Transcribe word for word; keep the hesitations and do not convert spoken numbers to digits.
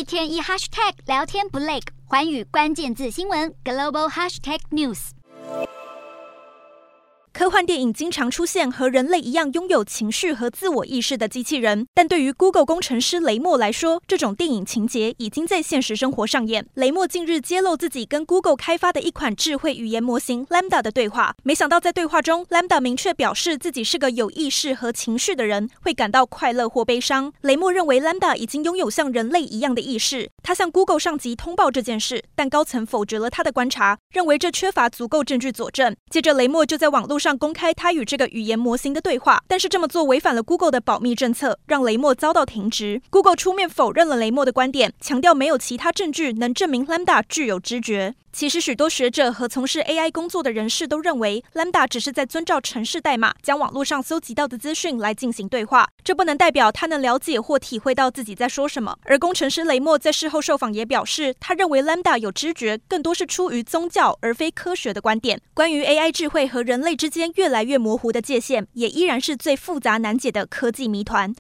天一 hashtag 聊天不累，寰宇關鍵字新聞 global hashtag news。 科幻電影經常出現和人類一樣擁有情緒和自我意識的機器人，但對於 Google 工程師雷默來說，這種電影情節已經在現實生活上演。雷默近日揭露自己跟 Google 開發的一款智慧語言模型 Lambda 的對話，沒想到在對話中 ，Lambda 明確表示自己是個有意識和情緒的人，會感到快樂或悲傷。雷默認為 Lambda 已經擁有像人類一樣的意識，他向 Google 上級通報這件事，但高層否決了他的觀察，認為這缺乏足夠證據佐證。接着，雷默就在網絡上公開他與這個語言模型的對話，但是這麼做違反了 Google 的保密政策，讓雷默遭到停職。Google 出面否認了雷默的觀點，強調沒有其他證據能證明 Lambda 具有知覺。其實，許多學者和從事 A I 工作的人士都認為 ，Lambda 只是在遵照程式代碼，將網絡上搜集到的資訊來進行對話，這不能代表他能了解或體會到自己在說什麼。而工程師雷默在事後受訪也表示，他認為 Lambda 有知覺，更多是出於宗教而非科學的觀點。關於 A I 智慧和人類之間越來越模糊的界限，也依然是最複雜難解的科技謎團。